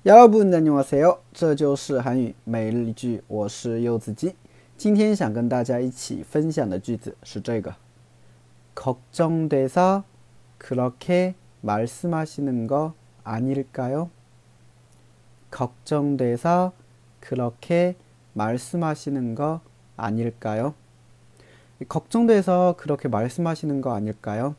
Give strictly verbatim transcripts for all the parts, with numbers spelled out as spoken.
여러분 안녕하세요，这就是韩语每日一句，我是柚子鸡。今天想跟大家一起分享的句子是这个걱정돼서 그렇게 말씀하시는 거 아닐까요? 걱정돼서 그렇게 말씀하시는 거 아닐까요? 걱정돼서 그렇게 말씀하시는 거 아닐까요?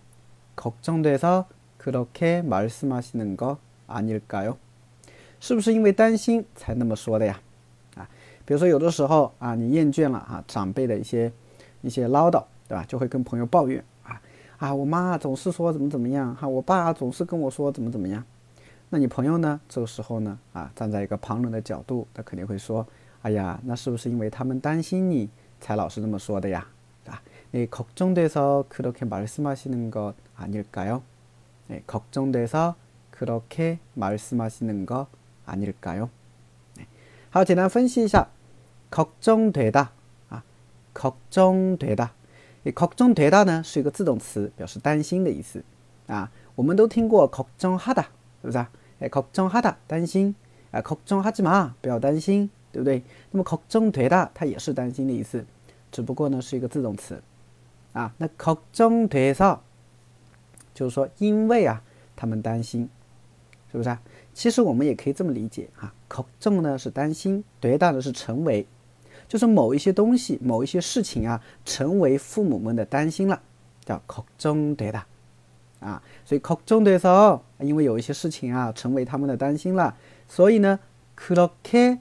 걱정돼서 그렇게 말씀하시는 거 아닐까요? 是不是因为担心才那么说的呀？啊，比如说有的时候啊，你厌倦了啊长辈的一些一些唠叨，对吧？就会跟朋友抱怨啊啊，我妈总是说怎么怎么样，哈、啊，我爸总是跟我说怎么怎么样。那你朋友呢？这个时候呢，啊，站在一个旁人的角度，他肯定会说，哎呀，那是不是因为他们担心你才老是那么说的呀？啊，네 걱정돼서 그렇게 말씀하시는 것 아닐까요? 네 걱정돼서 그렇게 말씀하시는 것 아닐까요? 好，简单分析一下，걱정되다啊，걱정되다，걱정되다呢是一个自动词，表示担心的意思啊。我们都听过걱정하다，是不是啊？哎，걱정하다担心啊，걱정하지마不要担心，对不对？那么걱정되다它也是担心的意思，只不过呢是一个自动词啊。那걱정돼서就是说因为啊他们担心。是不是啊？其实我们也可以这么理解啊，걱정呢是担心，되다呢是成为，就是某一些东西、某一些事情啊，成为父母们的担心了，叫걱정되다啊。所以걱정돼서因为有一些事情啊，成为他们的担心了，所以呢，그렇게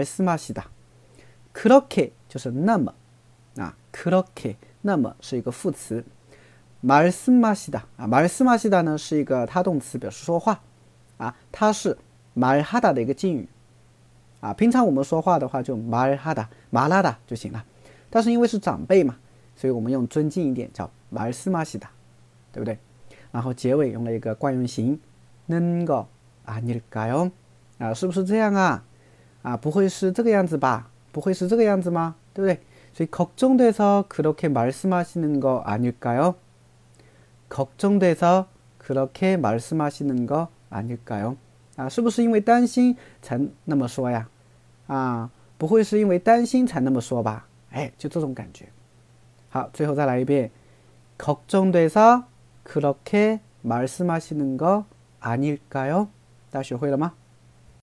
말씀하시다，그렇게就是那么啊，그렇게那么是一个副词，말씀하시다啊，말씀하시다呢是一个他动词，表示说话。啊，它是말하다的一个敬语啊。平常我们说话的话就말하다、말하다就行了。但是因为是长辈嘛，所以我们用尊敬一点叫말씀하시다，对不对？然后结尾用了一个惯用型는 거 아닐까요？啊，是不是这样啊？啊，不会是这个样子吧？不会是这个样子吗？对不对？所以걱정돼서 그렇게 말씀하시는 거 아닐까요？ 걱정돼서 그렇게 말씀하시는 거 아닐까요？ 啊，是不是因为担心才那么说呀？啊，不会是因为担心才那么说吧？哎，就这种感觉。好，最后再来一遍。걱정돼서 그렇게 말씀하시는 거 아닐까요？ 大家学会了吗？